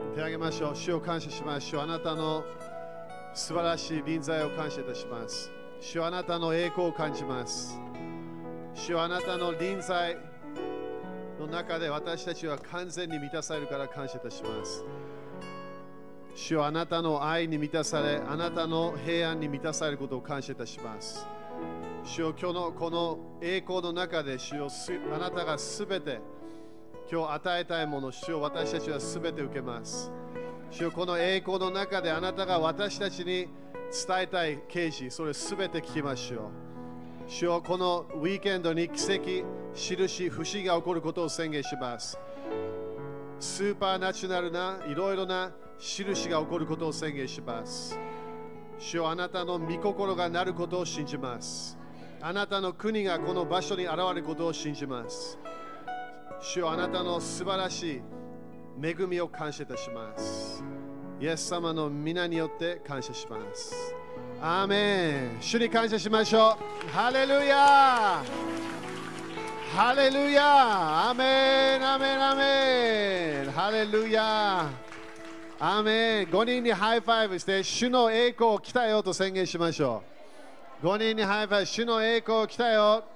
手を挙げましょう。主を感謝します。主、あなたの素晴らしい臨在を感謝いたします。主、あなたの栄光を感じます。主、あなたの臨在の中で私たちは完全に満たされるから感謝いたします。主はあなたの愛に満たされ、あなたの平安に満たされることを感謝いたします。主よ、今日のこの栄光の中で、主よ、あなたがすべて今日与えたいもの、主よ、私たちはすべて受けます。主よ、この栄光の中であなたが私たちに伝えたい啓示、それすべて聞きましょう。主よ、このウィーケンドに奇跡、印、不思議が起こることを宣言します。スーパーナチュラルないろいろな印が起こることを宣言します。主よ、あなたの御心がなることを信じます。あなたの国がこの場所に現れることを信じます。主よ、あなたの素晴らしい恵みを感謝いたします。イエス様の皆によって感謝します。アーメン。主に感謝しましょう。ハレルヤハレルヤアメンアメンアメンハレルヤアーメン。5人にハイファイブして主の栄光来たよと宣言しましょう。5人にハイファイブ、主の栄光来たよ。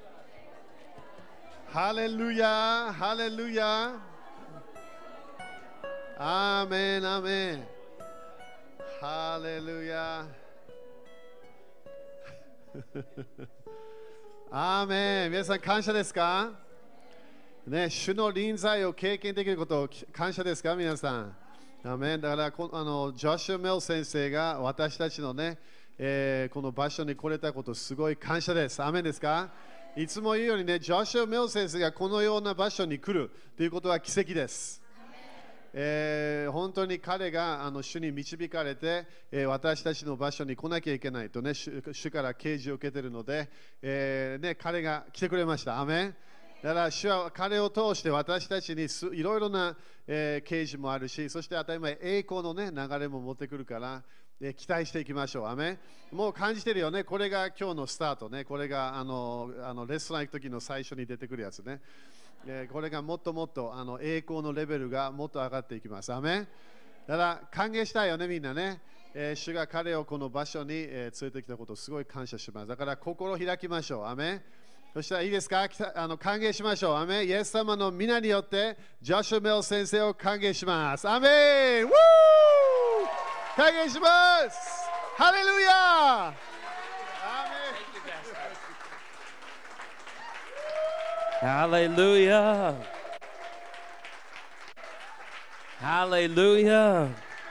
ハレルヤハレルヤアーメンアメンハレルヤアーメン。皆さん感謝ですかね。主の臨在を経験できることを感謝ですか皆さん。アーメン。だからジョシュ・メル先生が私たちのね、この場所に来れたことすごい感謝です。アーメンですか。いつも言うようにね、ジョシュ・メル先生がこのような場所に来るということは奇跡です。本当に彼が主に導かれて、私たちの場所に来なきゃいけないとね、主から啓示を受けているので、ね、彼が来てくれました。アメン。だから主は彼を通して私たちにいろいろな、啓示もあるし、そして当たり前栄光の、ね、流れも持ってくるから、期待していきましょう。アメン。もう感じてるよね。これが今日のスタートね。これがレストラン行く時の最初に出てくるやつね。これがもっともっと栄光のレベルがもっと上がっていきます。アメン。だから歓迎したいよね、みんなね。主が彼をこの場所に、連れてきたことをすごい感謝します。だから心を開きましょう。アメン。そしたらいいですか、歓迎しましょう。アメン。イエス様の皆によってジョシュ・メル先生を歓迎します。アメン。ウー歓迎します。ハレルヤ。 Hallelujah. Hallelujah.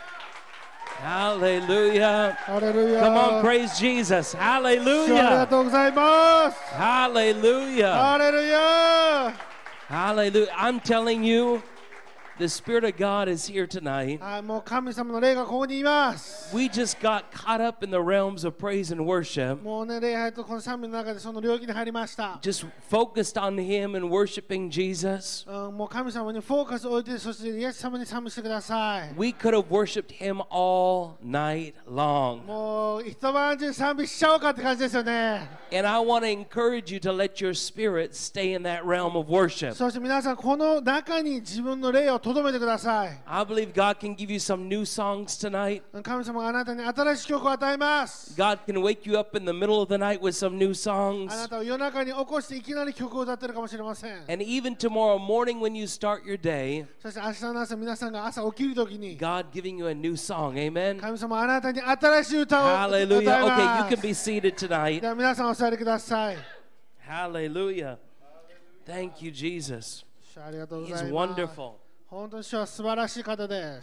Hallelujah. Hallelujah. Come on, praise Jesus. Hallelujah. Hallelujah. Hallelujah. Hallelujah. I'm telling you, the Spirit of God is here tonight. もう神様の霊がここにいます。 We just got caught up in the realms of praise and worship. もうね、礼拝とこの賛美の中でその領域に入りました。 Just focused on Him and worshiping Jesus. もう神様にフォーカスを置いて、そしてイエス様に賛美してください。 We could have worshipped Him all night long. もう一晩中賛美しちゃおうかって感じですよね。 And I want to encourage you to let your spirit stay in that realm of worship. そして皆さん、この中に自分の霊を留めてください。 I believe God can give you some new songs tonight. 神様があなたに新しい曲を与えます。 God can wake you up in the middle of the night with some new あ songs. なたを夜中に起こしていきなり曲を歌ってるかもしれません。 And even tomorrow morning when you start your day, そして明日の朝、皆さんが朝起きるときに God giving you a new song. Amen. 神様あなたに新しい歌を歌い Hallelujah. Okay, you ま can す。 be seated tonight. では皆さんお座りください。 Hallelujah. Thank you, Jesus. ありがとうご He's ざいます。 wonderful. 本当に主は素晴らしい方です。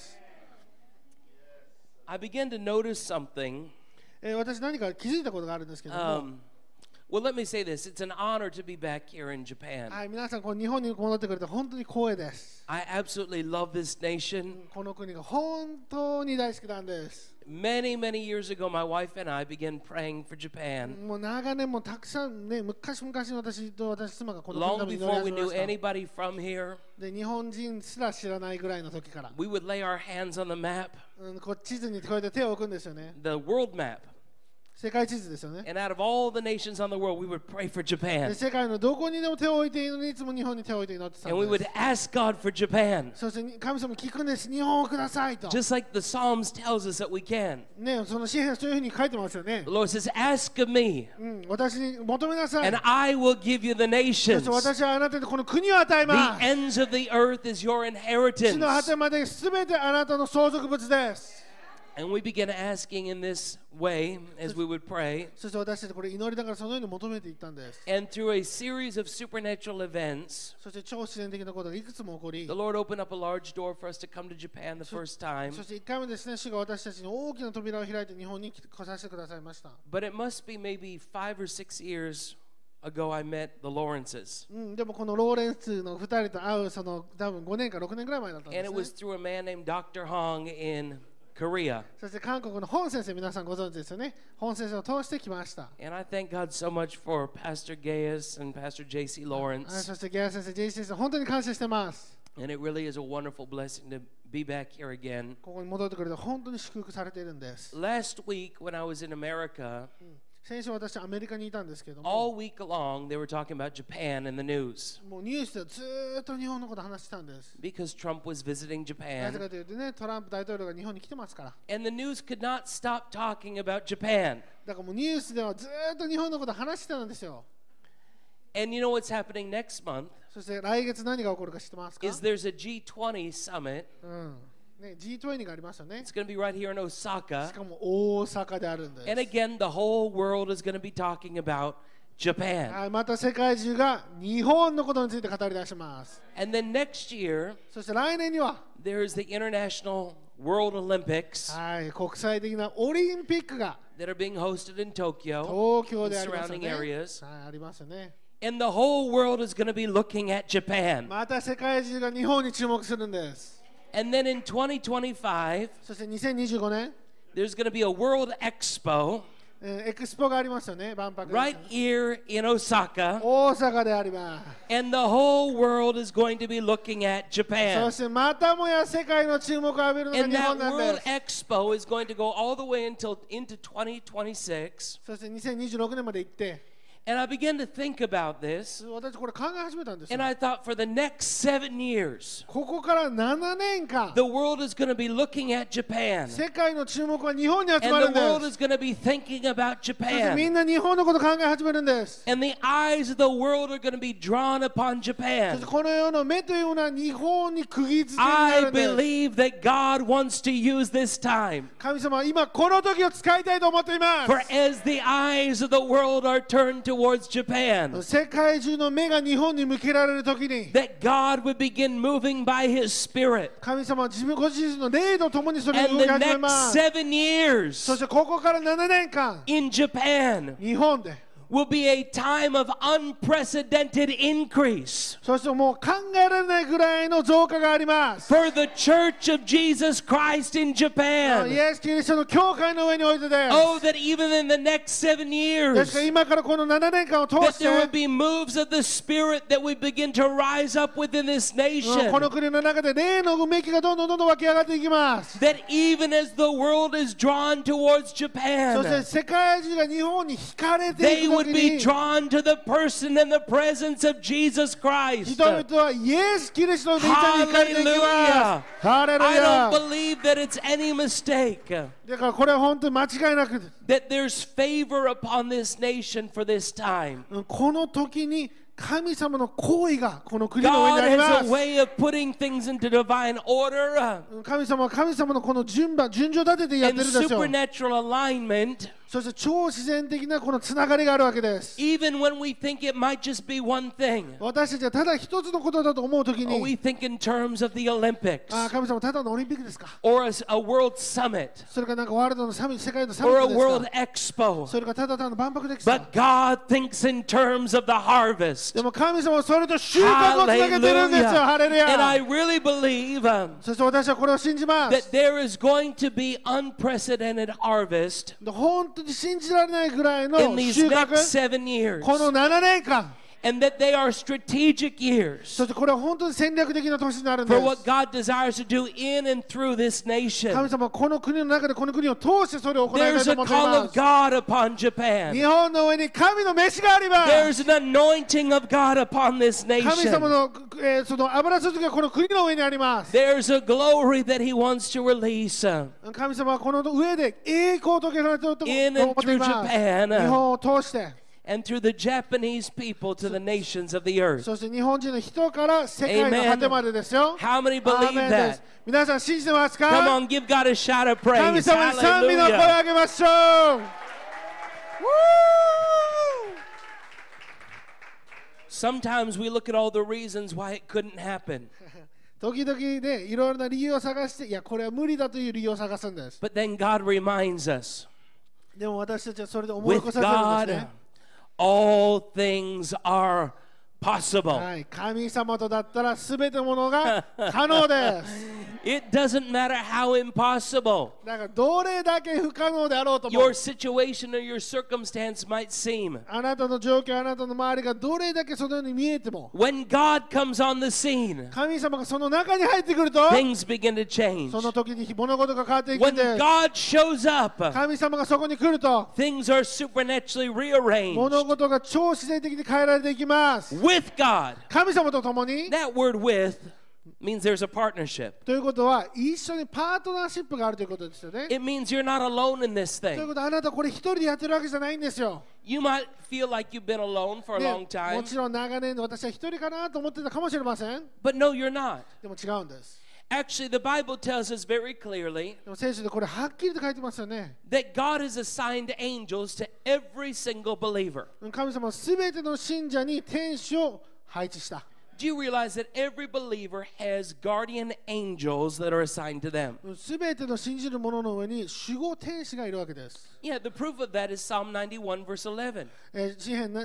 I began to notice something. 私何か気づいたことがあるんですけども、 Well, let me say this. It's an honor to be back here in Japan. はい、皆さんこう日本に戻ってくれて本当に光栄です。 I absolutely love this nation. この国が本当に大好きなんです。 Many, many years ago, my wife and I began praying for Japan. もう長年もたくさんね、昔々私と私妻がこの国 Long のために before we 祈り knew 始めまし anybody from here, た。で、日本人すら知らないぐらいの時から、 we would lay our hands on the map, こう地図にこうやって手を置くんですよね。 the world map. 世界地図ですよね。 And out of all the nations on the world, we would pray for で Japan. 世界のどこにでも手を置いているのにいつも日本に手を置いて祈ってた And we ん would です。 ask God for Japan. そして神様に聞くんです。日本をくださいと。 Just like the Psalms tells us that we can. ね、その詩篇そういうふうに書いてますよね The。Lord says, ask of me, 私に求めなさい。 and I will give you the そ nations. して私はあなたにこの国を与え The ます ends of the earth is your 地 inheritance. の果てまで全てあなたの相続物です And we began asking in this way as we would pray. そして私たちこれ祈りながらそのように求めていったんです And through a series of supernatural events, そして超自然的なことがいくつも起こり the Lord opened up a large door for us to come to Japan the first time. そして1回目ですね主が私たちに大きな扉を開いて日本に来させてくださいました But it must be maybe 5 or 6 years ago I met the Lawrences. でもこのローレンスの2人と会うその多分5年か6年ぐらい前だったんで And す it ね was through a man named Dr. Hong in Korea. そして韓国の本先生皆さんご存知ですよね本先生を通してきました And I thank God so much for Pastor Gaius and Pastor J.C. はい Lawrence. そしてゲア先生、ジェイ先生本当に感謝してます And it really is a wonderful blessing to be back here again. ここに戻ってくれて本当に祝福されているんです Last week when I was in America, 先週私アメリカにいたんですけども all week long they were talking about Japan in the news もうニュースでずーっと日本のこと話してたんです because Trump was visiting なぜ Japan. かというとねトランプ大統領が日本に来てますから And the news could not stop talking about Japan. だからもうニュースではずーっと日本のこと話してたんですよ And you know what's happening next month そして来月何が起こるか知ってますか is there's a G20 summit. ね、G20 がありますよね It's going to be right here in し Osaka. かも大阪であるんです And again, the whole world is going to be talking about Japan. はい、また世界中が日本のことについて語り出します And then next year, そして来年には there's the International World Olympics はい、国際的なオリンピックが that are being hosted in Tokyo 東京 and でありますよ surrounding ね、 areas. はい、ありますよね And the whole world is going to be looking at Japan. また世界中が日本に注目するんです And then in 2025, そして2025年 there's going to be a World Expo エクスポがありますよね万博ですよ right ね here in Osaka. 大阪であります And the whole world is going to be looking at そ Japan. してまたもや世界の注目を浴びるのが And 日 that 本なんで World す Expo is going to go all the way into 2026. そして2026年まで行って And I began to think about this. 私これ考え始めたんですよ And I thought for the next 7 years, ここから7年間 the world is going to be looking at Japan. 世界の注目は日本に集 And ま the るんで world す is going to be thinking about そしてみ Japan. んな日本のこと考え始めるんです And the eyes of the world are going to be drawn upon そし Japan. てこの世の目というのは日本に釘付けにな I るんです believe that God wants to use this time. 神様は今この時を使いたいと思っていま For す as the eyes of the world are turned towards Japan, 世界中の目が日本に向けられる時に that God would begin moving by His Spirit. 神様は自分ご自身の霊とともにそれを And 動き the 始めま next す 7 years そしてここから7年間 in Japan 日本で will be a time of unprecedented increase そしてもう考えられないぐらいの増加があります for the Church of Jesus Christ in イ Japan. エス・キリストの教会の上においてです Oh, that even in the next 7 ですか years, ら今からこの7年間を通 that して there would be moves of the Spirit that would begin to rise up within this こ nation. の国の中で霊のうめきがどんどん湧き上がっていきます That even as the world is drawn towards そして Japan, 世界中が日本に惹かれて they いく would 時 be に drawn to the person and the presence of Jesus Christ. 人々はイエス・キリストの御霊に惹かれていきますハレル I ヤ don't believe that it's any mistake だからこれは本当に間違いなく that there's favor upon this nation for this time. この時に神様の行為がこの国の上 God にありま has a す way of putting things into divine order 神様は神様のこの順序立ててやって and るでしょう supernatural alignment, そして超自然的なこのつながりがあるわけです even when we think it might just be one thing. 私たちはただ一つのことだと思う時 Or we に think in terms of the Olympics 神様ただのオリンピックですか or a world summit それかなんかワールドのサミット世界のサミ or ッ a ト world ですか expo. それかただ単の万博ですか But God thinks in terms of the harvest. でも神様はそれと収穫をつなげてるんですよ Hallelujah. ハレル And I ヤ really believe そして私はこれを信じま that す there is going to be unprecedented harvest 本当に信じられないぐらいの in these 収 next 穫 7 years. この7年間 And that they are strategic years そしてこれは本当に戦略的な年になるんで for what す。 God desires to do in and through this 神 nation. 様はこの国の中でこの国を通してそれを行いたい There's と a 思ってい call ま of す。 God upon Japan. 日本の上に神の召しがあります。 There's an anointing of God upon this 神様 nation. の、その油注ぎがこの国の上にあります。 There's a glory that He wants to release 神様はこの上で栄光を遂げられていると思 in っ and てい through ます。 Japan 日本を通して、 and through the Japanese people to the nations of the earth. そして日本人の人から世界の果てまでですよ。 How many アー believe メンで that? す。皆さん信じてますか？ Come on, give God a shout of 神 praise. 様に賛美の声を Hallelujah. 上げましょう。 Sometimes we look at all the reasons why it couldn't happen. 時々ね、いろいろな理由を探して、いや、これは無理だという理由を探すんです。 But then God reminds us でも私たちはそれで思い with 起こさせるんです God, ね。 all things are possible. はい、神様とだったらすべてのものが可能です。 It doesn't matter how impossible だからどれだけ不可能であろうとも your situation or your circumstance might seem. あなたの状況、あなたの周りがどれだけそのように見えても When God comes on the scene, 神様がその中に入ってくると things begin to change. その時に物事が変わっていくん When です。 God shows up, 神様がそこに来ると things are supernaturally 物 rearranged. 事が超自然的に変えられていきます。 With God. 神様と共に That word with means there's a partnership. ということは一緒にパートナーシップがあるということですよね。 It means you're not alone in this という thing. ことはあなたこれ一人でやってるわけじゃないんですよ。 You might feel like you've been alone for a ね long time, もちろん長年私は一人かなと思ってたかもしれません。 but no, you're not. でも違うんです。 Actually, the Bible tells us very clearly でも聖書でこれはっきりと書いてますよね。 that God has assigned angels to every single believer. 神様はすべての信者に天使を配置した。 Do you realize that every believer has guardian angels that are assigned to them? すべての信じる者の上に守護天使がいるわけです。 Yeah, the proof of that is Psalm 91, verse 11. 詩編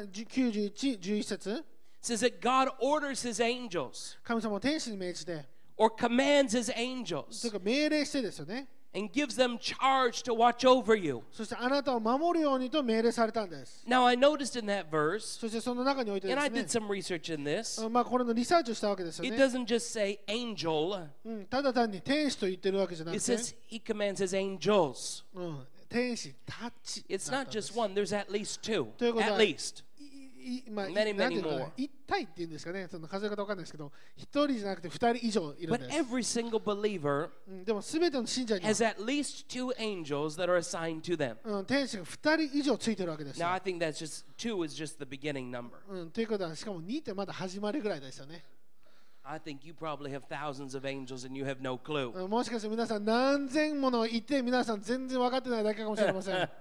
91、11節 It says that God orders his angels 神様は天使に命じて、 or commands his とい angels うか命令してですよね。 and gives them charge to watch over you. そしてあなたを守るようにと命令されたんです。 Now, I noticed in that verse, そしてその中においてで and I すね did some research in this, まあこれのリサーチをしたわけですよ it ね。 doesn't just say angel, ただ単に天使と言ってるわけじゃなく it て、 says he commands his angels. 天使たち。 It's not just one, there's at least two. ということは At least. まあ、 Many, なんていうのか many な more. 一体っていうんですかね、その数え方わかんないですけど、一人じゃなくて二人以上いるん But です。 every single believer でもすべての信者には has at least two angels that are assigned to them. 天使が二人以上ついてるわけですよ。 Now, I think that's just two is just the beginning number. ということは、しかも2ってまだ始まりぐらいですよね。 I think you probably have thousands of angels and you have no clue. もしかして皆さん何千ものいて、皆さん全然分かってないだけかもしれません。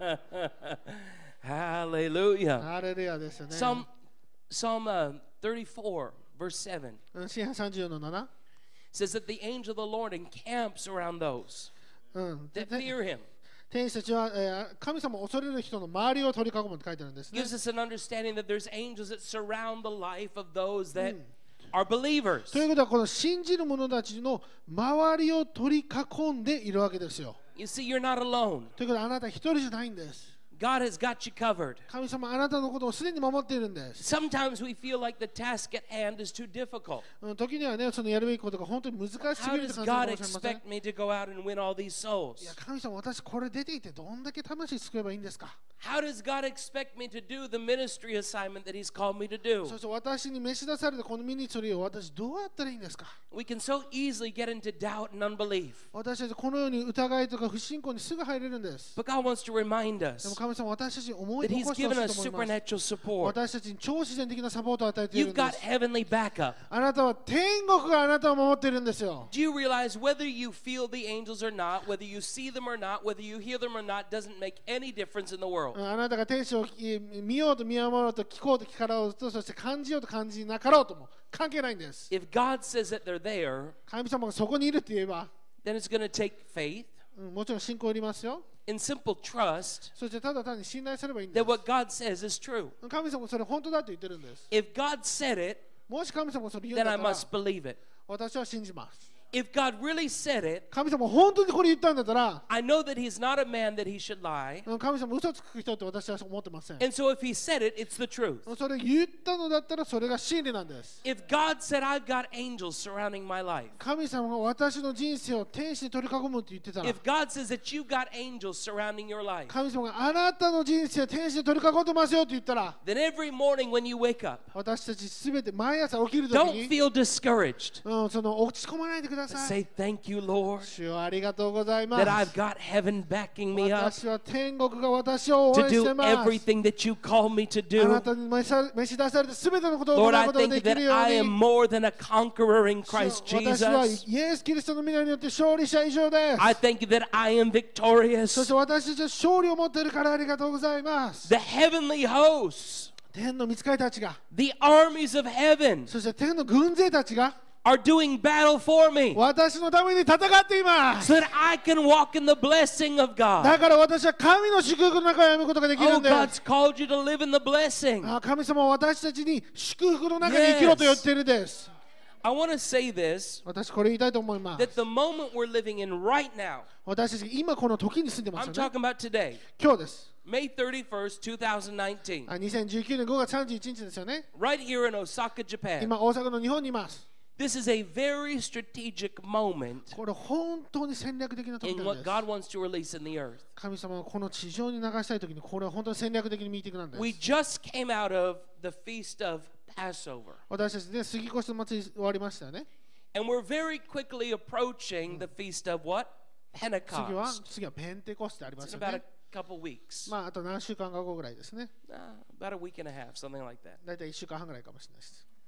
Hallelujah. ハレルヤですよね。 Psalm 34, verse 7 詩編34の7。 says that the angel of the Lord encamps around those で that fear him. 天使たちは、神様を恐れる人の周りを取り囲むって書いてあるんですね。 Gives us an understanding that there's angels that surround the life of those that are believers. ということは、この信じる者たちの周りを取り囲んでいるわけですよ。 You see, you're not alone. ということは、あなた一人じゃないんです。 God has got you covered. 神様、あなたのことをすでに守っているんです。 Sometimes we feel like the task at hand is too difficult. 時にはね、そのやるべきことが本当に難しす How ぎると does 感じ God るかもしれません。 expect me to go out and win all these souls? いや、神様、私これ出ていてどんだけ魂救えばいいんですか？ How does God expect me to do the ministry assignment that He's called me to do? そして私に召し出されたこのミニストリーを私どうやったらいいんですか？ We can so easily get into doubt and unbelief. 私たちこのように疑いとか不信仰にすぐ入れるんです。 But God wants to remind でも us 神様、私たちに思い that 起 He's こしてほ given しい us と思います。 supernatural support. 私たちに超自然的なサポートを与えている You've んで got す。 heavenly backup. あなたは天国があなたを守っているんですよ。 Do you realize whether you feel the angels or not, whether you see them or not, whether you hear them or not, doesn't make any difference in the world? あなたが天使を見ようと見守ろうと聞こうと聞かろうと、そして感じようと感じなかろうとも関係ないんです。 If God says that they're there, 神様がそこにいるって言えば、 then it's going to take faith もちろん信仰いりますよ。 and simple trust そしてただ単に信頼すればいいんで that す。 what God says is true. 神様がそれ本当だと言ってるんです。 If God said it, もし神様がそれ言うん then だ I ったら、 must believe it. 私は信じます。 If God really said it, 神様本当にこれ言ったんだったら、 I know that He's not a man that He should lie. 神様嘘つく人って私は思ってません。 And so if He said it, it's the truth. それ言ったのだったらそれが真理なんです。 If God said, I've got angels surrounding my life, 神様が私の人生を天使に取り囲むって言ってたら、 if God says that you've got angels surrounding your life, 神様があなたの人生を天使に取り囲んでますよって言ったら、 then every morning when you wake up, 私たちすべて毎朝起きるとき don't に、 feel discouraged. その落ち込まないでください。 Say, thank you, Lord, 主よありがとうございま that I've す。 got heaven backing me up 私は天国が私を応 to 援して do ます。 everything that you call me to あな do. たに召し出されてすべてのことを行 Lord, う I ことが thank で you きる that よ I う am に。 more than a conqueror in 主よ Christ 私は Jesus. イエス・キリストの皆によって勝利者以上です。 I thank you that I am そ victorious. して私たちは勝利を持っているからありがとうございます。 The heavenly hosts, 天の御使いたちが、 the armies of heaven, そして天の軍勢たちが are doing battle for me 私のために戦っています。 so that I can walk in the blessing of だ God. から私は神の祝福の中を歩むことができる Oh, んで God's す。 called you to live in the blessing. 神様は私たちに祝福の中に生きろと言っているです。 I want to say this, 私これ言いたいと思いま that す。 the moment we're living in right now, 私たち今この時に住んでま I'm すよね。 talking about today, 今日です。 May 31st, 2019, 2019年5月31日ですよね。 right here in Osaka, Japan. 今大阪の日本にいます。 This is a very strategic moment これ本当に戦略的な時 in なん what です God wants to release in the earth. 神様がこの地上に流したい時にこれは本当に戦略的にミーティングなんです We just came out of the feast of Passover, 私たちね杉越の祭り終わりましたよね and we're very quickly approaching the feast of what? 次は Pentecost. ペンテコステありま It's す in よ about ね a couple weeks, まああと何週間か後ぐらいですね about a week and a half, something like that. だいたい1週間半ぐらいかもしれないです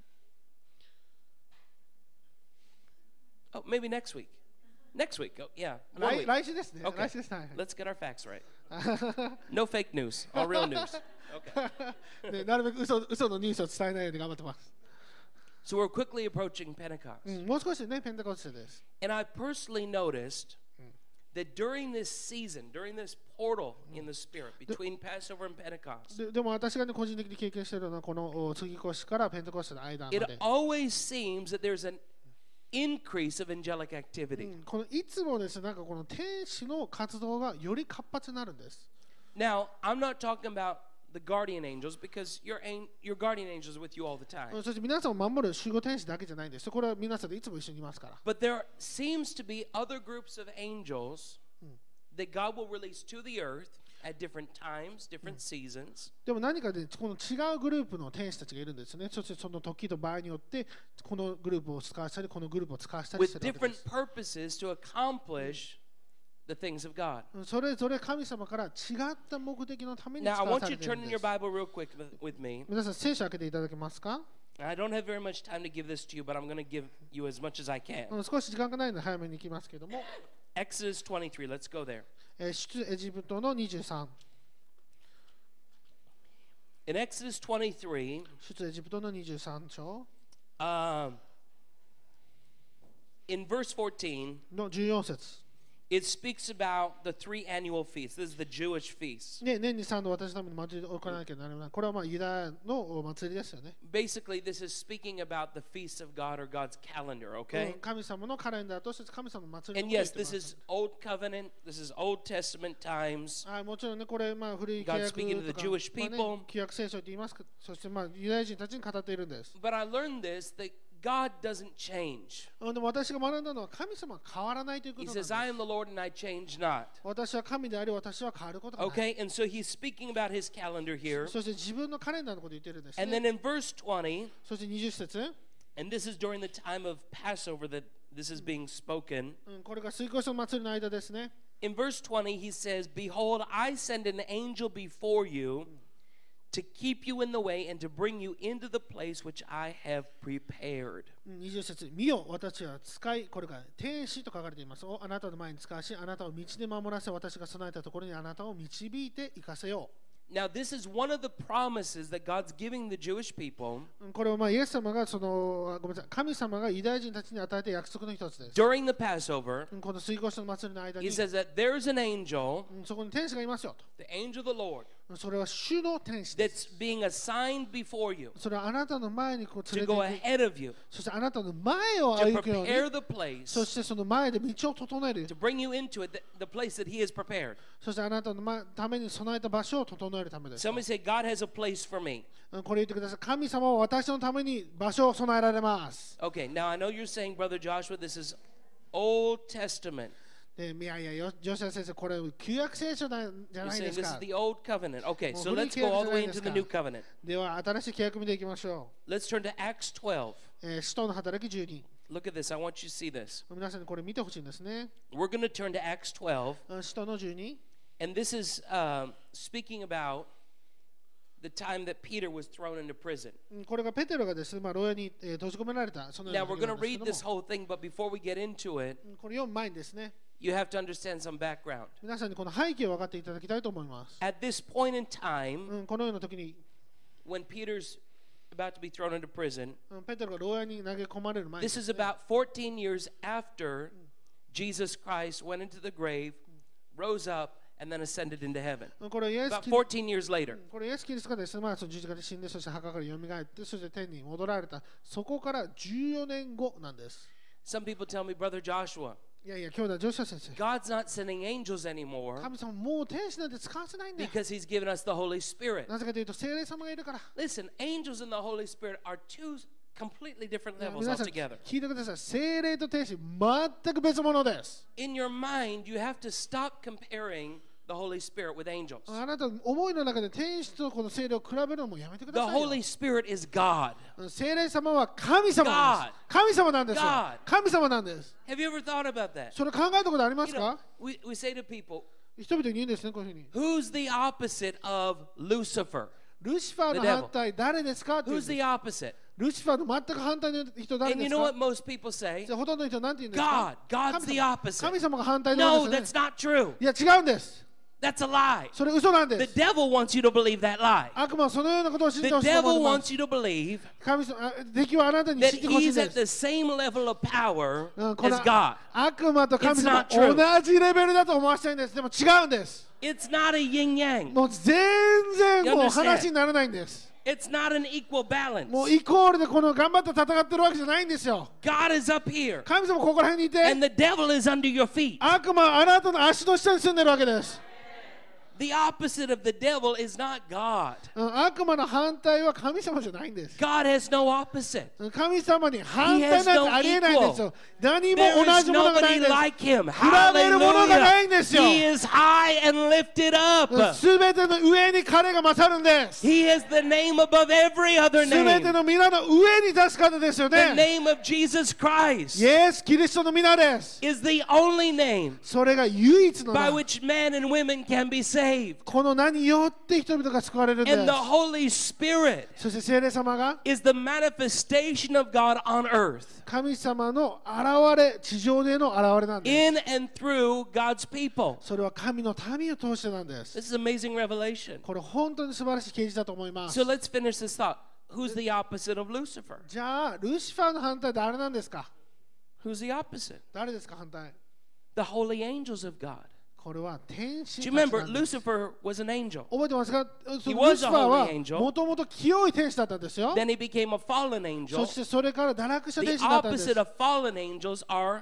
Oh, maybe next week. Next week. Oh, yeah. 1 week. 来週ですね Okay. 来週ですはい Let's get our facts right. No fake news, all real news. Okay. ねなるべく嘘のニュースを伝えないように頑張ってます So we're quickly approaching Pentecost. もう少しでねペンテコステです And I personally noticed that during this season, during this portal in the Spirit between Passover and Pentecost, でも私がね個人的に経験しているのはこの杉越からペンテコステの間ま it で always seems that there's an increase of angelic activity. このいつもですねなんかこの天使の活動がより活発になるんです Now, I'm not talking about the guardian angels because your guardian angels are with you all the time. そして皆さんを守る守護天使だけじゃないんですこれは皆さんでいつも一緒にいますから But there seems to be other groups of angels that God will release to the earth at different times, different seasons. でも何かでこの違うグループの天使たちがいるんですねそしてその時と場合によってこのグループを使わしたりこのグループを使わしたりし with てるわけで different す purposes to accomplish the things of God. それぞれ神様から違った目的のために Now, 使 I わ want さ you れ to ている turn ん in で your す Bible real quick with me. 皆さん聖書を開けていただけますか I don't have very much time to give this to you, but I'm going to give you as much as I can. 少し時間がないので早めに行きますけども Exodus 23, let's go there. 出エジプトの23 In Exodus 23, 出エジプトの23章 in verse 14, の14節 it speaks about the 3 annual feasts. This is the Jewish feast. ね、年に3度私のために祭りを行わなきゃならないこれはまあユダヤのお祭りですよね Basically, this is speaking about the feasts of God or God's calendar, okay? 神様のカレンダーとして神様の祭り And の yes, this is Old Covenant, this is Old Testament times. はい、もちろんね、これ、まあ、古い契 God 約 speaking to the とか、 Jewish まあね people. 旧約聖書と言いますか、そして、まあ、ユダヤ人たちに語っているんです。 But I learned this that God doesn't change. でも私が学んだのは、神様は変わらないというこ He となんで says, す。 I am the Lord and I change not. 私は神であり、私は変わることがない。 Okay, and so he's speaking about his calendar here. そして自分のカレンダーのことを言ってるんです、 And ね。 then in verse 20, そして20節、 and this is during the time of Passover that this is being spoken. これが水越の祭りの間ですね。 In verse 20, he says, Behold, I send an angel before you to keep you in the way and to bring you into the place which I have prepared. 20節、見よ、私は使い、これが天使と書かれています。あなたの前に使わし、あなたを道で守らせ、私が備えたところにあなたを導いて行かせよう。 Now, this is one of the promises that God's giving the Jewish people これはまあイエス様がごめんなさい神様がユダヤ人たちに与えた約束の一つです。 during the Passover. この水越の祭りの間 He に says that there's an angel, そこに天使がいますよと。 the angel of the Lord, それは主の天使です。 that's being assigned before you それはあなたの前にこう to 連 go れて行く。 ahead of you, そしてあなたの前を to 歩くように。 prepare the place, そしてその前で道を整える。 to bring you into it, the place that He has prepared. そしてあなたのために備えた場所を整えるためです。 Somebody say, God has a place for me. これ言ってください。神様は私のために場所を備えられます。 Okay, now I know you're saying, Brother Joshua, this is Old Testament. でいやいや、ジョシュア先生、これ旧約聖書なんじゃ You're ない saying です this is か。 the Old Covenant. Okay, so もう古い let's go all the way 契約じゃ into ない the ですか。 New Covenant. では新しい契約見ていきましょ Let's turn to Acts 12. う。使徒の働き12。 Look at this. I want you to see this. 皆さんにこれ見てほしいんですね。 We're going to turn to Acts 12, 使徒の12。 and this is speaking about the time that Peter was thrown into prison. これがペテロがですね、牢屋に閉じ込められた。そのよ Now う we're な going 時 to なんです read けども this whole thing, but before we get into it, これ読む前にですね、 you have to understand some background. 皆さんにこの背景を分かっていただきたいと思います。 At this point in time, このような時に、 when Peter's about to be thrown into prison, ペテロが牢屋に投げ込まれる前に this で is すね、 about 14 years after Jesus Christ went into the grave, rose up, and then ascended into heaven. これはイエス About キリ 14 years later. これイエスキリストがですね、その十字架で死んで、そして墓から蘇って、そして天に戻られた、そこから14年後なんです。 Some people tell me, Brother Joshua, いやいや、兄弟、ジョシュア先生、 God's not sending angels anymore 神様もう天使なんて使わせないんだよ。 because He's given us the Holy Spirit. なぜかというと、聖霊様がいるから。 Listen, angels and the Holy Spirit are two completely different いや levels 皆さん、 altogether. 聞いてください。聖霊と天使、全く別物です。 In your mind, you have to stop comparing the Holy Spirit with angels. あなた、思いの中で天使とこの聖霊を比べるのもやめてく The ださいよ。 Holy Spirit is God. 聖霊様は神様なんです。神様なんですよ God。 神様なんです。 Have you ever thought about that? それ考えたことあります You か know, we say to people, 人々に言うんですね、こういうふうに。 who's the opposite of Lucifer? ルシファーの反対、誰ですかって言うん Who's です the opposite? ルシファーの全く反対の人誰 And で you す know か what most people say? じゃあほとんどの人は何て言うんですか God. God's the 神様 opposite. 神様が反対なん No, で that's すよね。 not true. いや、違うんです。 That's a lie. それ嘘なん The です。 devil wants you to believe that lie. 悪魔はそのようなことを信じ The てほしいと思 devil いま wants す。 you to believe 神様、敵はあなたに that 知ってほしいん he's で at す。 the same level of power この as God. 悪魔と神様 It's not true. 同じレベルだと思わせたいんです。でも違うんです。 It's not a yin yang. もう全然 You もう understand? 話にならないんです。 It's not an equal balance. もうイコールでこの頑張って戦ってるわけじゃないんですよ。 God is up here, 神様ここら辺にいて、 and the devil is under your feet. 悪魔はあなたの足の下に住んでるわけです。 The opposite of the devil is not God. 悪魔の反対は神様じゃないんです。 God has no opposite. 神様に反対なんてありえないんですよ。何も There 同 is じものがないん nobody です。 like him. 比べるものがないんですよ。 He is high and lifted up. すべての上に彼が勝るんです。 He is the name above every other すべ name. ての皆の上に立つ方ですよ The ね。 name of Jesus Christ イエス・キリストの皆です。 is the only name それが唯一の by 名。 which men and women can be saved. この名によって人々が救われるんで And the す。 Holy Spirit そして聖霊様が is the manifestation of God on earth 神様の現れ、地上での現れなんです。 in and through God's people. それは神の民を通してなんです。 This is amazing revelation. これ本当に素晴らしい啓示だと思います。 So let's finish this thought. Who's the opposite of Lucifer? じゃあ、ルシファーの反対誰なんですか？ Who's the opposite? 誰ですか反対？ The holy angels of God. これは天使 Do た you ち remember なんです。 Lucifer was an angel? 覚えてますか？そ He の was ルシファーは a holy angel. もともと清い天使だったんですよ。 Then he became a fallen そ angel. してそれから堕落した The 天使になったんです。 opposite of fallen angels are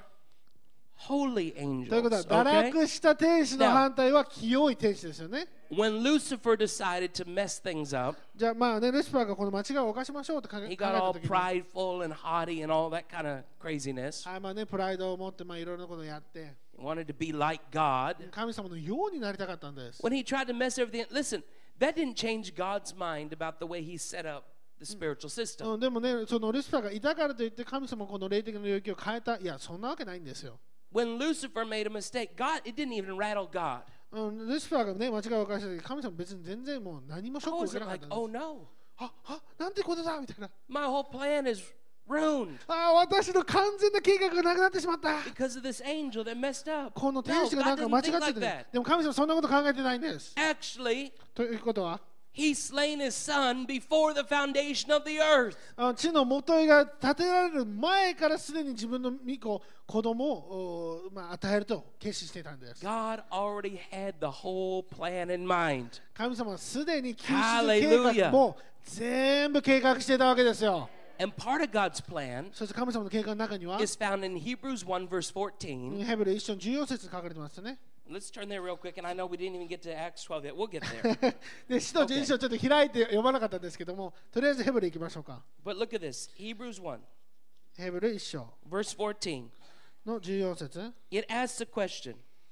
holy ということは angels. 堕 Okay? 落した天使の反対は清い天使ですよね。 When Lucifer decided to mess things up, じゃあまあね、ルシファーがこの間違いを犯しましょうと考え he た got all 時に、 prideful and haughty and all that kind of craziness. はいまあね、プライドを持ってまあいろいろなことをやって、 He wanted to be like God. 神様のようになりたかったんです。 When he tried to mess everything, listen, that didn't change God's mind about the way he set up the spiritual system. でもね、そのルシファーがいたからといって神様この霊的な領域を変えた、いや、そんなわけないんですよ。 When Lucifer made a mistake, God, it didn't even rattle God. ルシファーがね、間違いを犯した時、神様別に全然もう何もショッ I クを受け wasn't なかっ like, たん oh です。 no, なんてことだみたいな。 my whole plan is ruined 私の完全な計画がなくなってしまった。 because of this angel that messed up. この天 No, 使が God なんか間違 didn't っ think てて、 like that. でも神様そんなこと考えてないんです。 Actually, ということは、 He slain his son before the foundation of the earth. 地の元が建てられる前からすでに自分の子供を与えると決心していたんです。 God already had the whole plan in mind. 神様はすでに救出計画も全部計画していたわけですよ。 And part of God's plan そして神様の計画の中には is found in Hebrews 1 verse 14. ヘブル1章14節に書かれてますよね。 Let's turn there real quick, and I know we didn't even get to Acts 12 yet. We'll get there. で使徒12章ちょっと開いて読まなかったんですけども、とりあえずヘブル行きましょうか。 But look at this. Hebrews 1, ヘブル1章 verse 14. の14節。 It asks a question.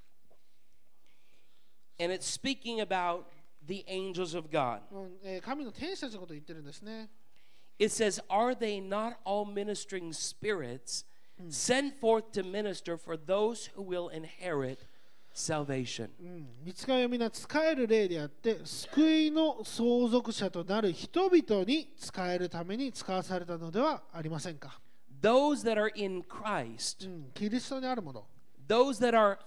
And it's speaking about the angels of God. 神の天使たちのことを言ってるんですね。 It says, Are they not all ministering spirits sent forth to minister for those who will inherit salvation? 御使いは皆使える霊であって救いの相続者となる人々に使えるために使わされたのではありませんか。 Those that are in Christ, キリストにあるもの、 those that are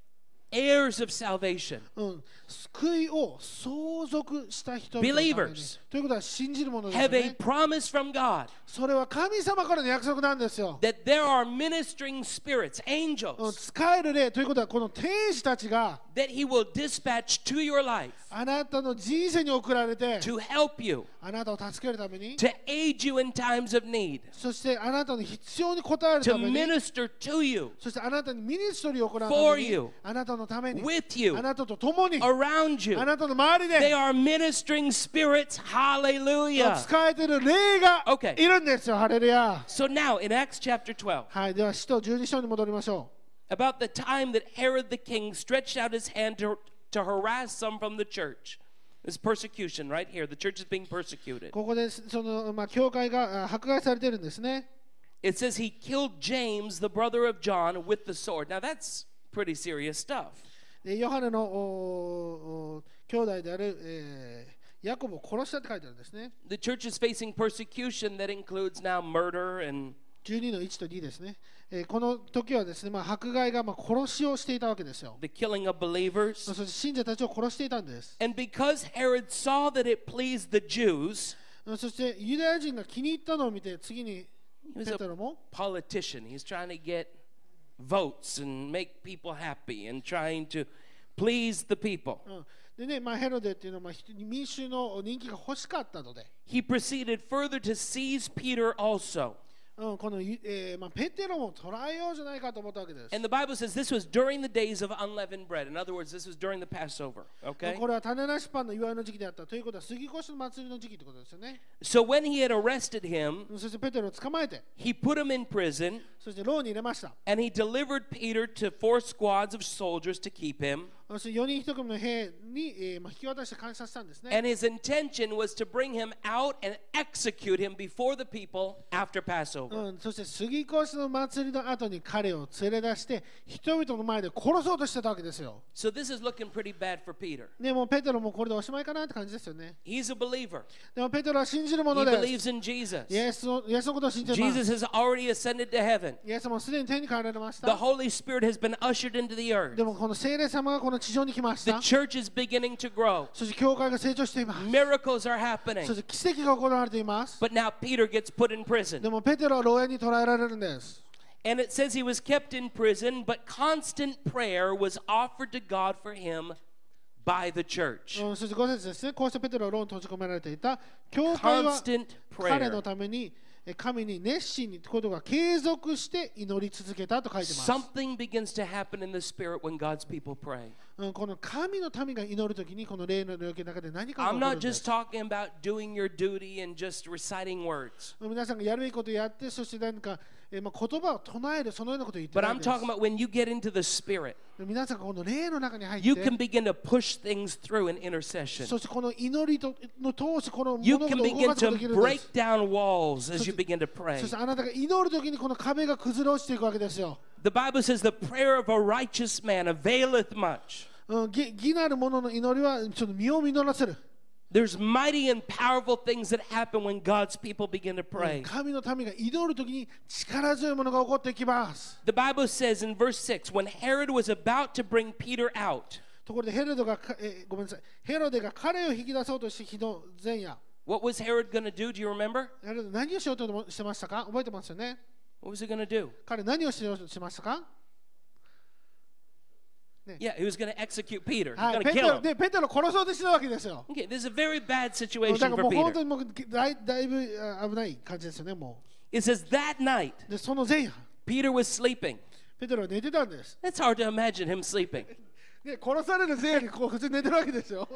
heirs of salvation, 救いを相続した人々のために Believers ということは信じるものですよ have a ね。 promise from God それは神様からの約束なんですよ。 that there are ministering spirits, angels, 使える霊ということはこの天使たちが that He will dispatch to your life あなたの人生に送られて to help you, あなたを助けるために to aid you in times of need, そしてあなたの必要に応える to ために minister to you, そしてあなたにミニストリーを行うた for めに you あなたのために with you, あなたと共に around you. あなたの周り They で are ministering spirits. Hallelujah. 使えてる霊が Okay. いるんですよ。ハレルヤ。 So now in Acts chapter 12, はい、では使徒12章に戻りましょ about the time that Herod the king stretched out his hand to harass some from the church. This persecution right here. The church is being う。 persecuted. ここで教会が迫害されてるんですね。 It says he killed James, the brother of John, with the sword. Now that's pretty serious stuff. でヨハネの兄弟である、ヤコブを殺したって書いてあるんですね。 The church is facing persecution that includes now murder and 12の1と2ですね。この時はですね、迫害が殺しをしていたわけですよ。 the killing of believers. そして信者たちを殺していたんです。 And because Herod saw that it pleased the Jews, そしてユダヤ人が気に入ったのを見て、次に he was ペ a テロも politician. He's trying to get votes and make people happy and trying to please the people. でね、ヘロデっていうのは民衆の人気が欲しかったので、 He proceeded further to seize Peter also. この、ペテロも捕らえようじゃないかと思ったわけです。 And the Bible says this was during the days of unleavened bread. In other words, this was during the Passover. Okay? これは種なしパンの祝いの時期であったということは杉越の祭りの時期ってことですよね。 So when he had arrested him, そしてペテロを捕まえて、 he put him in prison そして牢に入れました。 and he delivered Peter to 4 squads of soldiers to keep him. そして4人1組の兵に、引き渡して監視させたんですね。 And his intention was to bring him out and execute him before the people after Passover. そして杉越の祭りの後に彼を連れ出して人々の前で殺そうとしてたわけですよ。 So this is looking pretty bad for Peter. でもペテロもこれでおしまいかなって感じですよね。 He's a believer. でもペテロは信じるも He のです。 believes in Jesus. イエスのことを信じてます Jesus。has already ascended to heaven. イエスもすでに天に帰られまし The た。 Holy Spirit has been ushered into the earth. でもこの聖霊様がこの地上に来まし The た。 church is beginning to grow. そして教会が成長しています。 Miracles are happening. そして奇跡が行われています。 But now Peter gets put in で prison. もペテロは牢屋に捕らえられるんです。 And it says he was kept in prison, but constant prayer was offered to God for him by the church. そして5節ですね。こうしてペテロは牢に閉じ込められていた。教会は Constant 彼の prayer. ために神に熱心にことが継続して祈り続けたと書いてます。 Something begins to happen in the spirit when God's people pray. この神の民が祈るときにこの霊の領域の中で何かが I'm 起こる not んで just す。 talking about doing your duty and just reciting words, 皆さんがやるべきことをやってそして何か言葉を唱えるそのようなことを言って but ない I'm です talking about when you get into the spirit, 皆さんがこの霊の中に入っ you て can begin to push things through in intercession. そしてこの祈りの通してこの You 物 can 事を動 begin かすことができ to るんで break す。 down walls as you begin to pray. そしてあなたが祈るときにこの壁が崩れ落ちていくわけですよ。 The Bible says the prayer of a righteous man availeth much. 義なる者の祈りはちょっと身を実らせる。 There's mighty and powerful things that happen when God's people begin to pray. 神の民が祈るときに力強いものが起こってきます。 The Bible says in verse 6, when Herod was about to bring Peter out, ところでヘロデがごめんなさい、ヘロデが彼を引き出そうとして日の前夜、 What was Herod going to do? Do you remember? ヘロデ何をしようとしてましたか？覚えてますよね。 What was he going to do? 彼何をしようとしましたか？ Yeah, he was going to execute Peter. He's はい、 going to ペテ kill ロ him. でペテロを殺そうとしてたわけですよ。 Okay, this is a very bad だ situation から for もう本当 Peter. にもうだいぶ危ない感じですよね。も It says that night, うでその前夜、 Peter was sleeping. ペテロは寝てたんです。 It's hard to imagine him sleeping. で殺される前夜にこう普通に寝てるわけですよ。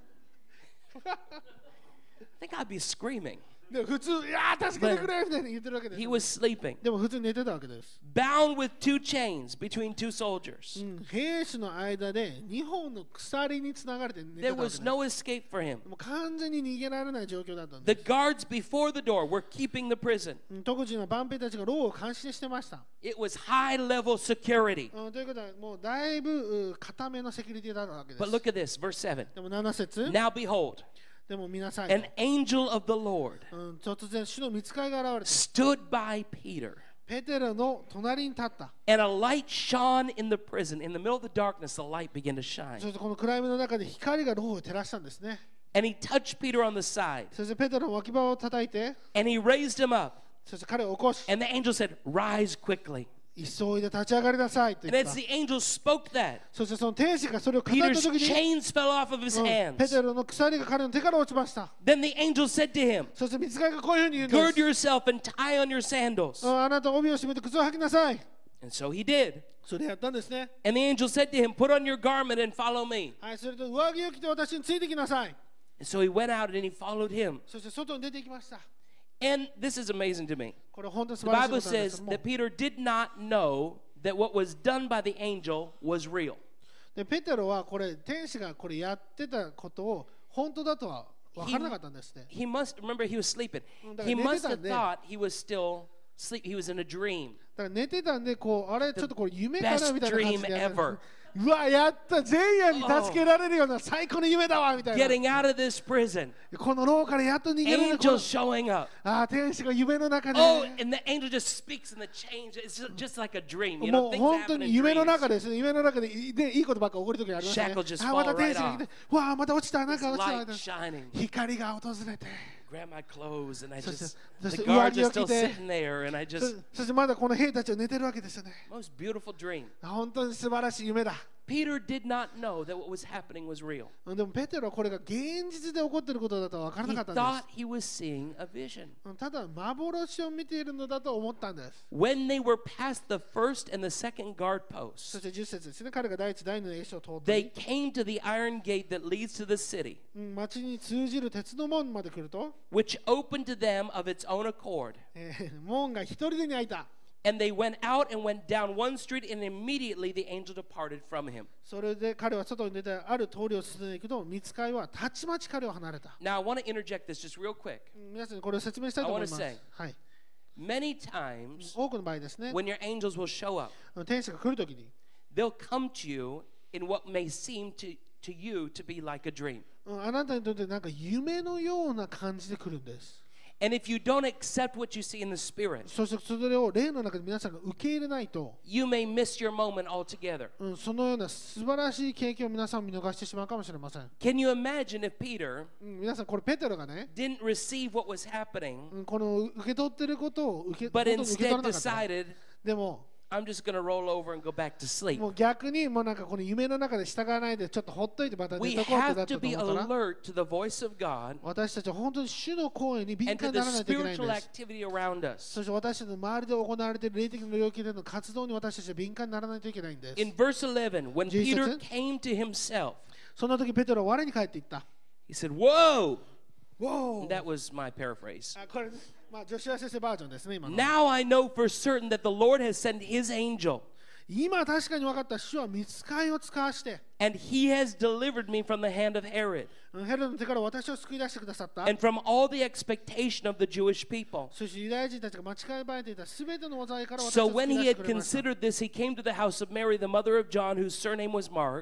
I think I'd be screaming. で普通、いやー助けてくれみたいに言ってるわけです He よ。 was sleeping, でも普通に寝てたわけです。 bound with two chains between two soldiers. 兵士の間で2本の鎖につながれて寝てた There わけです。 was no escape for him. もう完全に逃げられない状況だったんで The す。 guards before the door were keeping the prison. 特人の番兵たちが牢を監視してました。 It was high level security. ということはもうだいぶ固めのセキュリティだったわけです。 But look at this, verse 7. でも7節、 Now behold, でも皆さん、 an angel of the Lord 突然主の御使いが現れて stood by Peter, ペテロの隣に立った。 and a light shone in the prison. In the middle of the darkness, the light began to shine. そしてこの暗闇の中で光が牢を照らしたんですね。 And he touched Peter on the side, そしてペテロの脇腹を叩いて、 and he raised him up. そして彼を起こし、 And the angel said, Rise quickly. 急いで立ち上がりなさいと And 言っ as た。 the angel spoke that, そしてその天使がそれを語った Peter's 時に、 chains fell off of his ペ hands. テロの鎖が彼の手から落ちました。 Then the angel said to him, そして御使いがこういうふうに言うんで Gird す。 yourself and tie on your sandals. あなた帯を締めて靴を履きなさい。 And so he did. それやったんですね。 And the angel said to him, Put on your garment and follow me. はい、それと上着を着て私についてきなさい。 And so he went out and he followed him. そして外に出て行きました。 And this is amazing to me. これ本当に素 The 晴らしいこ Bible となんです says けども that Peter did not know that what was done by the angel was real. でペテロはこれ天使がこれやってたことを本当だとは分からなかったんですね。 He must remember he was sleeping. だから He 寝て must たん have で。 thought he was still asleep. He was in a dream. だから寝てたんでこうあれちょっとこれ夢かな best みたいな感じでやって dream ever. うわやった前夜に助けられるような最高の夢だわみたいな。 Getting out of this prison. この牢からやっと逃げられる。 Angels showing up. 天使が夢の中で。 Oh, and the angel just speaks and the change. It's just like a dream. You も know, う things 本当 happen に in 夢の dreams. 中ですね。夢の中でいいことばっか起こる時がありますね。 Shackles just また fall 天使 right が来て、わあまた落ちたなんか落ちた Light shining. 光が訪れて。 Grab my clothes and I So- just so- the so- guards are 上着を still 着て。 sitting there and I そ just そしてまだこの兵たちは寝てるわけですよね。 most beautiful dream. 本当に素晴らしい夢だ。 Peter did not know that what was happening was real. でもペテロはこれが現実で起こっていることだとは分からな He かったんで thought he was seeing a vision. す。ただ幻を見ているのだと思ったんです。 When they were past the first and the second guard そ posts, して10節ですね。彼が第一第二の栄翔を通って、 they came to the iron gate that leads to the city, 町に通じる鉄の門まで来ると、 which opened to them of its own accord. 門が一人でに開いた。 And they went out and went down one street, and immediately the angel departed from him. それで彼は外に出てある通りを進んでいくと、御使いはたちまち彼を離れた。 Now, I want to interject this just real quick. 皆さんにこれを説明したいと思います。 I wanna say- はい。 Many times, 多くの場合ですね、 when your angels will show up, 天使が来るときに、 they'll come to you in what may seem to you to be like a dream. あなたにとってなんか夢のような感じで来るんです。 And if you don't accept what you see in the spirit, そしてそれを霊の中で皆さんが受け入れないと、 you may miss your moment altogether. そのような素晴らしい経験を皆さん見逃してしまうかもしれません。 Can you imagine if Peter 皆さんこれペテロがね、 didn't receive what was happening, この受け取ってることを受け but 本当に受け取 instead らなかった。 decided, でも、 I'm just going to roll over and go back to sleep? もう逆にもうなんかこの夢の中で従わないでちょっとほっといてまた We 寝とこうってな have った to と be 思ったら、 alert to the voice of God 私たちは本当に主の声に敏 and 感 to に the ならないといけないん spiritual です。 activity around us. そして私たちの周りで行われている霊的な領域での活動に私たちは敏感にならないといけないんです。 In verse 11, when Jesus Peter said- came to himself, その時ペテロは我に返っていった。 he said, Whoa! わお That was my paraphrase. これ、まあ、ジョシュア先生バージョンですね、今の。 Now I know for certain that the Lord has sent his angel, 今確かに分かった主は御使いを使わして、 and he has delivered me from the hand of Herod ヘロデの手から私を救い出してくださった。 and from all the expectation of the Jewish people. そしてユダヤ人たちが待ち構えていたすべての災いから私 So を救 when い he 出して had くれました。 considered this, he came to the house of Mary, the mother of John, whose surname was Mark.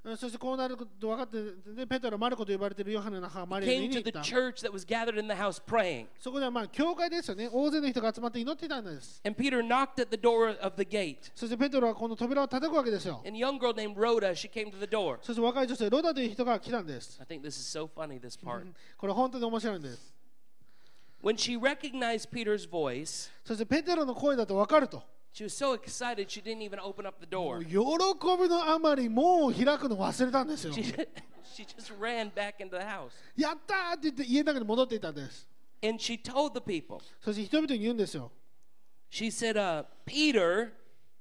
そしてこうなること分かって、でペテロはマルコと呼ばれているヨハネの母マリアに came 言 to っ the た。 church that was gathered in the house praying. そこではまあ教会ですよね。大勢の人が集まって祈っていたんです。 And Peter knocked at the door of the gate. そしてペテロはこの扉を叩くわけですよ。 And a young girl named Rhoda, she came to the door. そして若い女性ロダという人が来たんです。 I think this is so funny, this part. これ本当に面白いんです。 When she recognized Peter's voice, そしてペテロの声だと分かると。 she was so excited she didn't even open up the も door. う喜びのあまり門を開くの忘れたんですよ。 She just ran back into the house. やったーって言って家の中に戻っていたんです。 And she told the people, そして人々に言うんですよ。 she said, Peter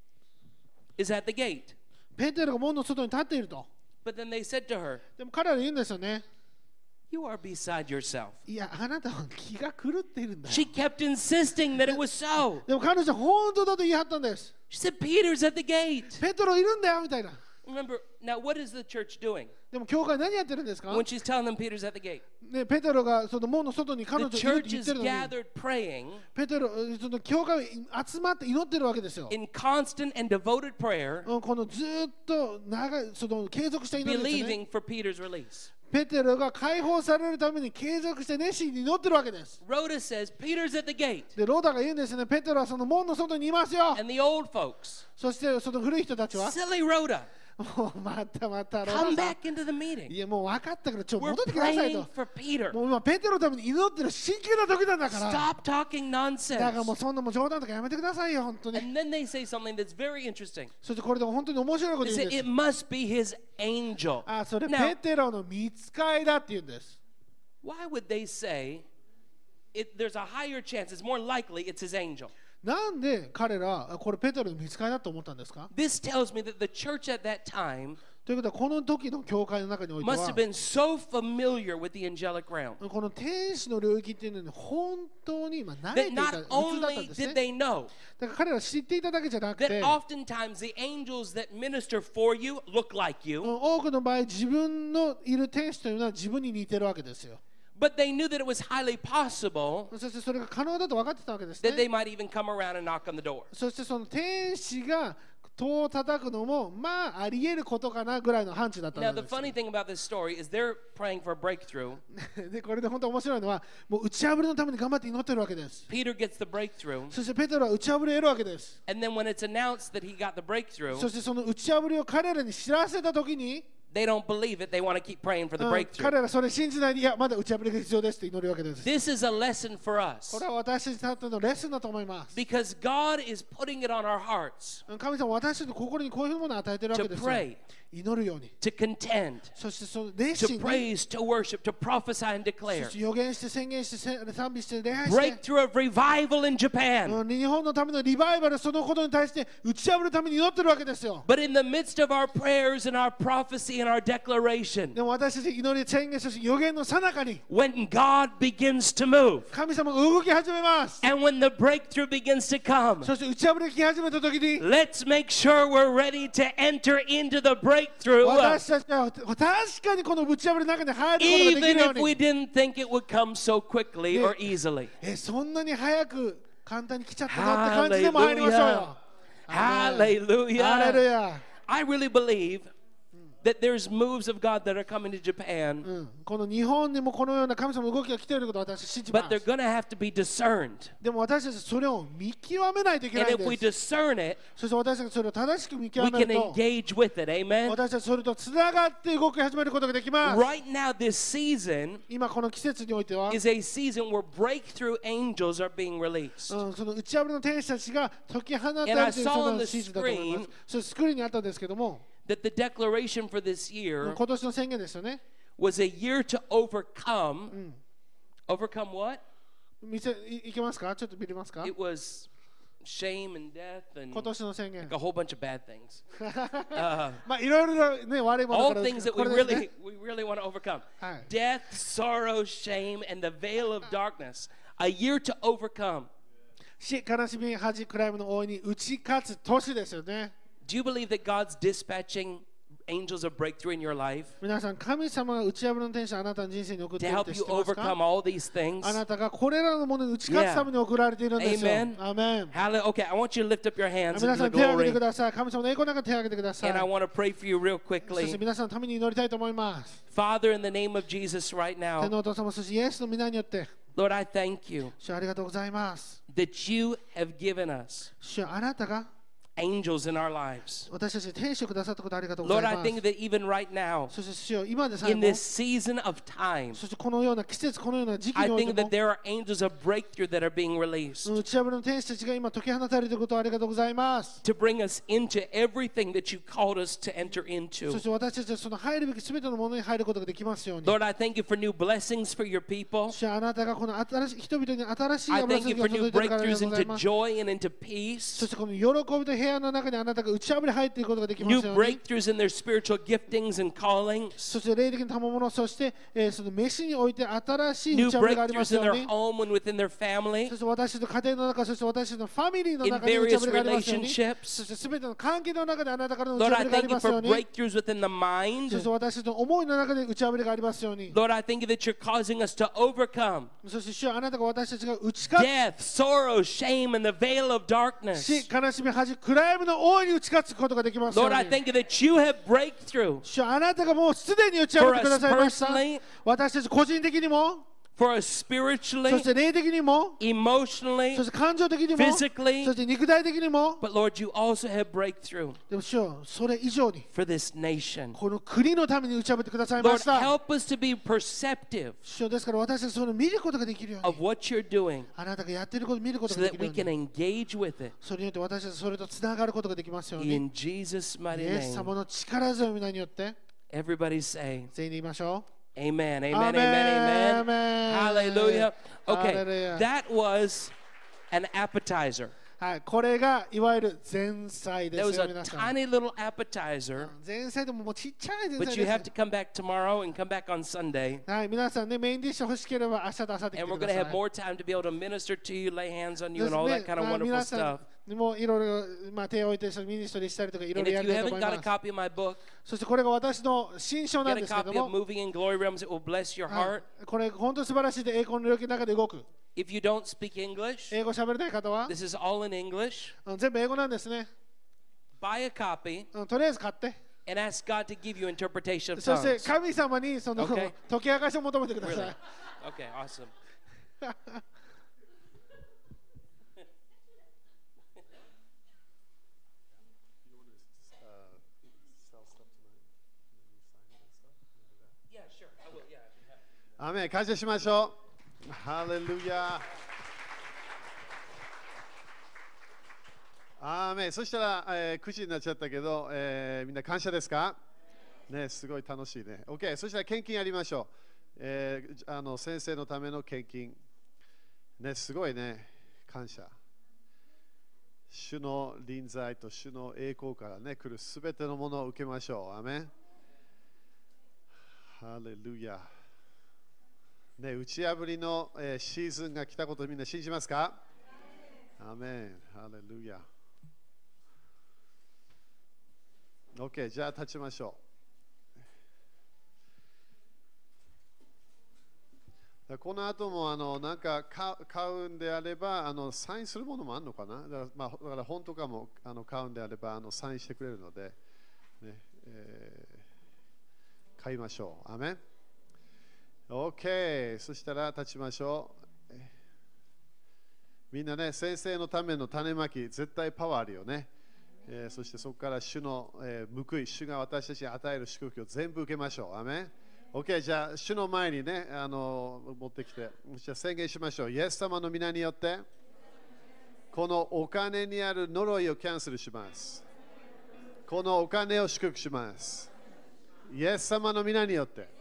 is at the gate. ペテロが門の外に立っていると。 But then they said to her, でも彼らは言うんですよね。 you are beside yourself. いや、あなたは気が狂っているんだよ。 She kept insisting that it was so. でも彼女は本当だと言い張ったんです。 She said, Peter's at the gate. ペテロいるんだよみたいな。 Remember, now what is the church doing でも教会何やってるんですか when she's telling them Peter's at the gate? ね、ペテロがその門の外に彼女 The いるって church 言っ is てるのに、 gathered praying ペテロ、その教会集まって祈ってるわけですよ。 in constant and devoted prayer, このずっと長い、その継続した祈りですね。 believing for Peter's release. ペテロが解放されるために継続して熱心に祈ってるわけです。 Rhoda says, Peter's at the gate. で、ローダが言うんですね、ペテロはその門の外にいますよ。 And the old folks, そしてその古い人たちは、 silly Rhoda, もうまたまたロー come ダさ back into the ん。 meeting. いや、もう分かったから We're 戻ってください praying と。 for Peter. もう今ペテロのために祈ってる真剣な時なんだから Stop talking だからもう nonsense. そんなもう冗談とかやめてくださいよ本当に And then they say something that's very interesting. そしてこれでも本当に面白いこと They 言 say うんで it す must be his angel. あそれ Now, ペテロの見つかいだって言うんです why would they say there's a higher chance, it's more likely it's his angel? なんで彼らこれペテロの見つかいだと思ったんですか This tells me that the church at that time ということはこの時の教会の中において must は have been so familiar with the angelic realm この天使の領域っていうのに本当に今慣 that れていた not 普通だったん only です did ね they know だから彼ら知っていただけじゃなく that て oftentimes the angels that minister for you look like you, 多くの場合自分のいる天使というのは自分に似てるわけですよ but they knew that it was highly possible そしてそれが可能だと分かってたわけです that they ね might even come around and knock on the door. そしてその天使が戸を叩くのもまああり得ることかなぐらいの範疇だった Now, ん the です funny thing about this story is they're praying for a breakthrough. でこれで本当面白いのはもう打ち破りのために頑張って祈ってるわけです Peter gets the breakthrough, そしてペテロは打ち破りを得るわけです and then when it's announced that he got the そ breakthrough, してその打ち破りを彼らに知らせた時に they don't believe it. They want to keep praying for the 彼 breakthrough. らそれ信じないでいやまだ打ち破りが必要ですって祈るわけです This is a lesson for us これは私たちにとってのレッスンだと思います because God is putting it on our hearts 神様は私たちの心にこういうものを与えてるわけ to ですよ pray, 祈るように to contend, そしてその熱 to 心に praise, to worship, to prophesy and そ declare. して予言して宣言して賛美して礼拝して Breakthrough of revival in Japan. 日本のためのリバイバルそのことに対して打ち破るために祈ってるわけですよ But in the midst of our prayers and our prophecy and our declaration, でも私たち祈り宣言そして予言の最中に when God begins to move 神様が動き始めます and when the breakthrough begins to come, そして打ち破りが来始めた時に let's make sure we're ready to enter into the breakthrough, 私たちは確かにこの打ち破りの中に入ることができ even るよう if we に didn't think it would come so quickly or easily. そんなに早く簡単に来ちゃったなって感じでも入りましょうよ Hallelujah. ハレルヤ I really believe that there's moves of God that are coming to Japan, この日本にもこのような神様の動きが来ていることを私は信じま but they're す going to have to be discerned. でも私たちそれを見極めないといけな And いん if we です discern it, そして私たちがそれを正しく見 we 極め can ると engage with it. Amen. 私たちそれとつながって動き始めることができます Right now, this season 今この季節においては is a season where breakthrough angels are being released. その打ち破りの天使たちが解き放たれ And I ている saw そ on の the シーズンだと思います screen それスクリーンにあったんですけども That the declaration for this year 今年の宣言ですよね was a year to overcome. Overcome what? いけますかちょっと見れますか It was shame and death and 今年の宣言 a whole bunch of bad things. まあいろいろね悪いもの All から things that これですね we really want to overcome. はい Death, sorrow, shame, and the veil of darkness. A year to overcome. 死悲しみ恥暗闇の大いに打ち勝つ年ですよね Do you believe that God's dispatching angels of breakthrough in your life 皆さん、神様が打ち破りの天使をあなたの人生に送って to いるっ help て知 you ってます overcome か？ all these things? あなたがこれらのものに打ち勝つために送られているんですよ。 Amen. アーメン。 Okay, I want you to lift up your hands 皆 into さ the ん手を挙げて glory. ください。神様の栄光の中で手を挙げてください。 And I want to pray for you real そして quickly. 皆さんのために祈りたいと思います。 Father, in the name of Jesus right 天 now, のお父様、そしてイエスの皆によって、 Lord, I thank you 主ありがとうございます。 that you have given us 主あなたが angels in our lives. 私たちに天使をくださったことありがとうご Lord, ざい I ます。 think that even right now, そして主よ、今でさえ in も、 this season of time, そしてこのような季節、このような時期 I におい think て that も、 there are angels of breakthrough that are being released 打ち破りの天使たちが今解き放たれていることをありがとうございます。 to bring us into everything that you called us to enter そ into. して私たちはその入るべきすべてのものに入ることができますように。 Lord, I thank you for new blessings for your people. 主あなたがこの新しい人々に新しい I 油 thank 注 you ぎを for 届 new いているからありが breakthroughs とうござい into ます。 joy and into そ peace, してこの喜びと平安の中にあなたが打ち破り入っていくことができま new すように。 breakthroughs in their spiritual giftings and callings, そして霊的な賜物、そして、その飯において新しい new 打ち破りがありま breakthroughs す in よう their に。 home and within their family, そして私たちの家庭の中、そして私たちのファミリーの in 中に打ち various 破りがありますように。そ relationships. してすべての関係の中であなたからの打ち Lord, 破 I りがあ thank り you ますよ for うに。 breakthroughs within the そ mind. して私たちの思いの中で打ち破りがありますように。 Lord, I thank you that you're causing us to overcome そして主よあなたが私たちが打ち勝 death, sorrow, shame, and the veil of つ darkness. し、悲しみ、恥、暗闇の大いに打ち勝つことができますよう Lord, I に。 thank you that you have breakthrough 主よあなたがもうすでに打ち破ってくださいました for us personally.。 私たち個人的にも、 for us そ spiritually, して霊的にも、 emotionally, そして感情的にも、 physically. そして肉体的にも。 But Lord, you also have breakthrough でも主よそれ以上に for this nation. この国のために打ち破ってくださいま Lord, した。 help us to be perceptive 主よですから私たちそれを見ることができるよう of に、 what you're doing あなたがやっていることを見ること so がで that きる we よう can に、 engage with it. それによって私たちそれとつながることができますように。 In Jesus' イ mighty エス name. 様の力強い皆によって Everybody say, 全員で言いましょ Amen, う。 amen, ア amen, メ amen. ン Hallelujah. Okay, Hallelujah. that was an appetizer. はい、これがいわゆる前菜で That す was よ a 皆さん。 tiny little appetizer, 前菜でももうちっちゃい前 but 菜 you で have す to。come back tomorrow and come back on Sunday. はい、皆さんね、メインディッシュ欲しければ明日と明後日来て And we're く going だ to さ have い。 more time to be able to minister to you, lay hands on you, です and all ね that kind of まあ wonderful 皆さ stuff. んもういろいろ、まあ、手を置いてミニストリーしたりとかいろ And いろ if や you りたいと haven't 思い got a ます。 copy of my book, そしてこれが私の新書なん get a ですけれ copy ど of も、 Moving in Glory Realms. It will bless your は heart. い、これ本当に素晴らしいで栄光の領域の中で動く。 If you don't speak English, 英語喋れない方は this is all in English. 全部英語なんですね。 Buy a copy とりあえず買って。 and ask God to give you interpretation of そして tongues. 神様にその Okay. 解き明かしを求めてくださ Really? い。 Okay, awesome. Yeah, sure. I will. Yeah. アーメン、感謝しましょう。ハレルヤ。アーメン。そしたら、9時になっちゃったけど、みんな感謝ですかね、すごい楽しいね。OK、そしたら献金やりましょう。先生のための献金。ね、すごいね、感謝。主の臨在と主の栄光からね、来るすべてのものを受けましょう。アーメン。ハレルヤ。ね、打ち破りの、シーズンが来たことをみんな信じますか？アーメン。ハレルヤ。OK、じゃあ立ちましょう。この後もなんか買うんであればサインするものもあるのかな。だから本とかも買うんであればサインしてくれるので、ね買いましょう。アーメン。OK、そしたら立ちましょう。みんなね、先生のための種まき、絶対パワーあるよね。そしてそこから主の、報い、主が私たちに与える祝福を全部受けましょう。アーメン。OK、じゃあ、主の前にね、持ってきて、じゃあ宣言しましょう。イエス様の皆によって、このお金にある呪いをキャンセルします。このお金を祝福します。イエス様の皆によって。